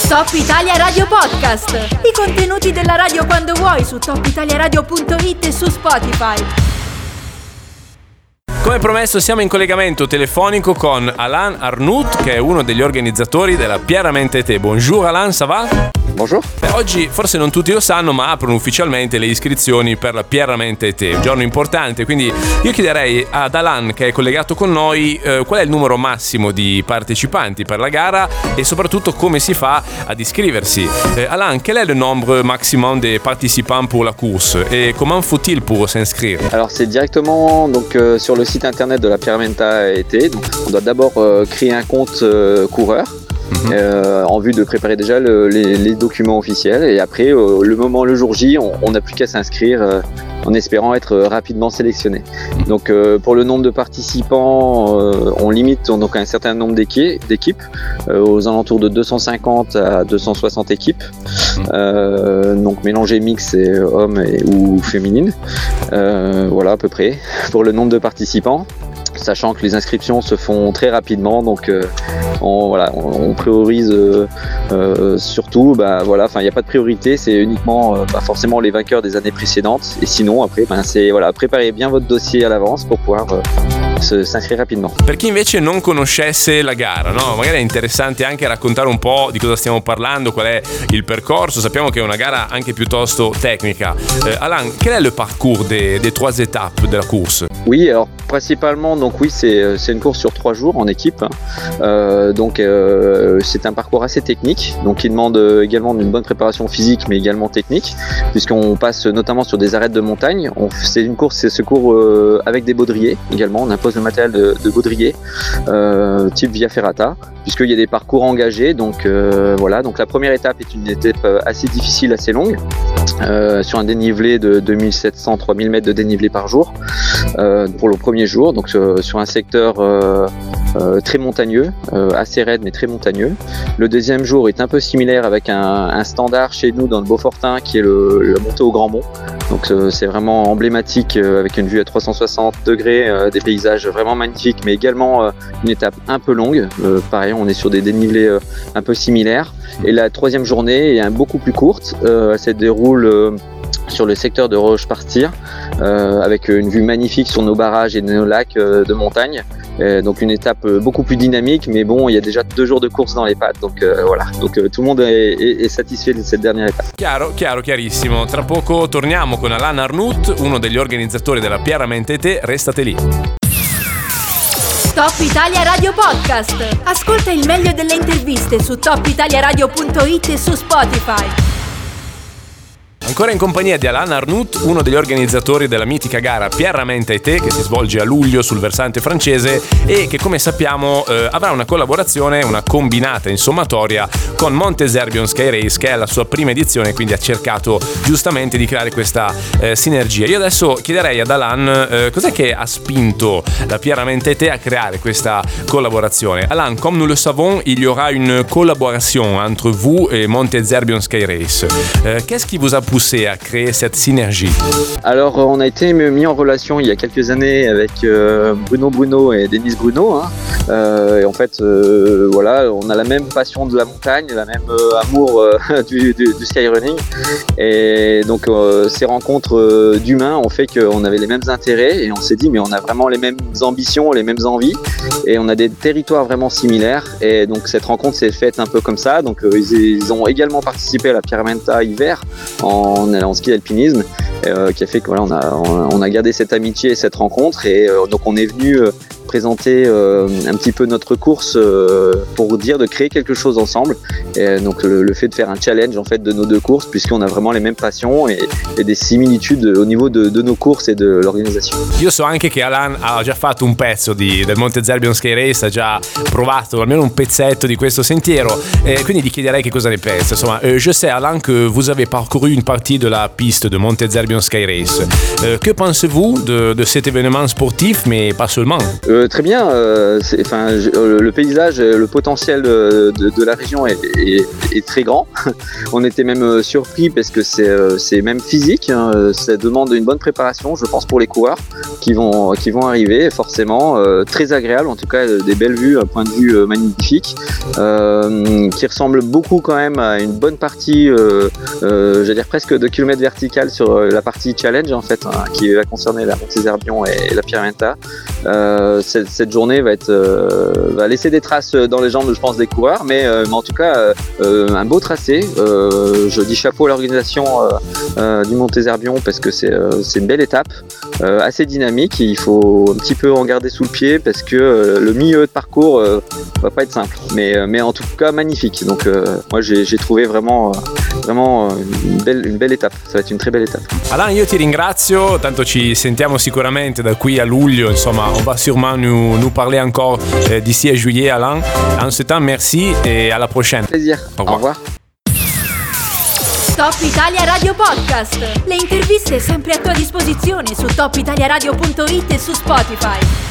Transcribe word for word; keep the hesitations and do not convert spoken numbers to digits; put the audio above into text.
Top Italia Radio Podcast. I contenuti della radio quando vuoi su top italia radio punto it e su Spotify. Come promesso siamo in collegamento telefonico con Alain Arnoult, che è uno degli organizzatori della Pierrement Été. Bonjour Alain, ça va? Bonjour. Beh, oggi forse non tutti lo sanno, ma aprono ufficialmente le iscrizioni per la Pierrement Été, un giorno importante, quindi io chiederei ad Alain, che è collegato con noi, eh, qual è il numero massimo di partecipanti per la gara e soprattutto come si fa ad iscriversi. Eh, Alain, quel est le nombre maximum des participants pour la course et comment faut-il pour s'inscrire? Alors c'est directement donc euh, sur le site internet de la Pierrement Été. Donc on doit d'abord euh, créer un compte euh, coureur. Mmh. Euh, en vue de préparer déjà le, les, les documents officiels et après euh, le moment le jour J on n'a plus qu'à s'inscrire euh, en espérant être euh, rapidement sélectionné. Mmh. Donc euh, pour le nombre de participants euh, on limite donc un certain nombre d'équi- d'équipes euh, aux alentours de deux cent cinquante à deux cent soixante équipes, mmh. euh, donc mélangées mix et hommes et, ou féminines, euh, voilà à peu près pour le nombre de participants, sachant que les inscriptions se font très rapidement, donc euh, on, voilà, on, on priorise euh, euh, surtout, bah, voilà, enfin il n'y a pas de priorité, c'est uniquement euh, bah, forcément les vainqueurs des années précédentes, et sinon après, bah, c'est voilà, préparez bien votre dossier à l'avance pour pouvoir euh, se, s'inscrire rapidement. Per chi invece non conoscesse la gara, no? Magari è interessante anche raccontare un po' di cosa stiamo parlando, qual è il percorso. Sappiamo che è una gara anche piuttosto tecnica. Eh, Alain, quel est le parcours des, des trois étapes de la course? Oui, alors principalement, donc oui, c'est, c'est une course sur trois jours en équipe. Euh, donc euh, c'est un parcours assez technique, donc qui demande également une bonne préparation physique, mais également technique, puisqu'on passe notamment sur des arêtes de montagne. On, c'est une course, c'est ce cours euh, avec des baudriers également. On impose le matériel de, de baudrier euh, type Via Ferrata, puisqu'il y a des parcours engagés. Donc euh, voilà. Donc la première étape est une étape assez difficile, assez longue, euh, sur un dénivelé de deux mille sept cents à trois mille mètres de dénivelé par jour euh, pour le premier jour. Donc euh, sur un secteur euh, euh, très montagneux, euh, assez raide mais très montagneux. Le deuxième jour est un peu similaire avec un, un standard chez nous dans le Beaufortin qui est le, le montée au Grand Mont. Donc euh, c'est vraiment emblématique euh, avec une vue à trois cent soixante degrés, euh, des paysages vraiment magnifiques, mais également euh, une étape un peu longue. Euh, pareil, on est sur des dénivelés euh, un peu similaires. Et la troisième journée est beaucoup plus courte. Euh, elle se déroule euh, sur le secteur de Roche-Partir, euh, avec une vue magnifique sur nos barrages et nos lacs euh, de montagne. Euh, donc une étape euh, beaucoup plus dynamique, mais bon, il y a déjà deux jours de course dans les pattes, donc euh, voilà. Donc euh, tout le monde est, est, est satisfait de cette dernière étape. Chiaro, chiaro, chiarissimo. Tra poco torniamo con Alain Arnoult, uno degli organizzatori della Pierrement Été. Restate lì. Top Italia Radio Podcast. Ascolta il meglio delle interviste su top italia radio punto it e su Spotify. Ancora in compagnia di Alain Arnoult, uno degli organizzatori della mitica gara Pierrement Été, che si svolge a luglio sul versante francese e che, come sappiamo, eh, avrà una collaborazione, una combinata in sommatoria con Monte Zerbion Sky Race, che è la sua prima edizione, quindi ha cercato giustamente di creare questa eh, sinergia. Io adesso chiederei ad Alain eh, cos'è che ha spinto la Pierrement Été a creare questa collaborazione. Alain, comme nous le savons, il y aura une collaboration entre vous et Monte Zerbion Sky Race. Euh, qu'est-ce qui vous a poussé à créer cette synergie? Alors on a été mis en relation il y a quelques années avec euh, Bruno Bruno et Denise Bruno, hein. euh, et en fait euh, voilà, on a la même passion de la montagne, la même euh, amour euh, du, du, du skyrunning, et donc euh, ces rencontres euh, d'humains ont fait qu'on avait les mêmes intérêts et on s'est dit mais on a vraiment les mêmes ambitions, les mêmes envies, et on a des territoires vraiment similaires, et donc cette rencontre s'est faite un peu comme ça. Donc euh, ils, ils ont également participé à la Pierrement hiver en En, en ski alpinisme, euh, qui a fait que voilà, on a, on, on a gardé cette amitié et cette rencontre, et euh, donc on est venu euh, présenter euh, un petit peu notre course euh, pour dire de créer quelque chose ensemble, et donc le, le fait de faire un challenge en fait de nos deux courses, puisqu'on a vraiment les mêmes passions et, et des similitudes au niveau de, de nos courses et de l'organisation. Io so anche che Alain ha già fatto un pezzo di, del Monte Zerbion Sky Race, ha già provato almeno un pezzetto di questo sentiero, e quindi gli chiederei che cosa ne pensa. Insomma, euh, je sais Alain que vous avez parcouru une partie de la piste de Monte Zerbion Sky Race. Euh, que pensez-vous de, de cet événement sportif, mais pas seulement? Euh, Euh, très bien, euh, c'est, enfin, je, euh, le paysage, le potentiel de, de, de la région est, est, est très grand. On était même euh, surpris parce que c'est, euh, c'est même physique, hein, ça demande une bonne préparation, je pense, pour les coureurs qui vont, qui vont arriver, forcément, euh, très agréable, en tout cas des belles vues, un point de vue euh, magnifique, euh, qui ressemble beaucoup quand même à une bonne partie, euh, euh, j'allais dire presque de kilomètres verticales sur la partie challenge en fait, hein, qui va concerner la Montezerbion et la Pierre-Menta. Euh, cette, cette journée va être euh, va laisser des traces dans les jambes, je pense, des coureurs, mais, euh, mais en tout cas euh, un beau tracé. Euh, je dis chapeau à l'organisation euh, euh, du Montezerbion parce que c'est euh, c'est une belle étape, euh, assez dynamique. Il faut un petit peu en garder sous le pied parce que euh, le milieu de parcours euh, va pas être simple, mais mais en tout cas magnifique. Donc euh, moi j'ai, j'ai trouvé vraiment vraiment une belle, une belle étape. Ça va être une très belle étape. Alain, io ti ringrazio, tanto ci sentiamo sicuramente da qui a luglio, insomma, on va sûrement nous, nous parler encore euh, d'ici à juillet, Alain. En ce temps, merci et à la prochaine. Plaisir. Au revoir. Au revoir. Top Italia Radio Podcast. Le interviste sempre a tua disposizione su top italia radio punto it e su Spotify.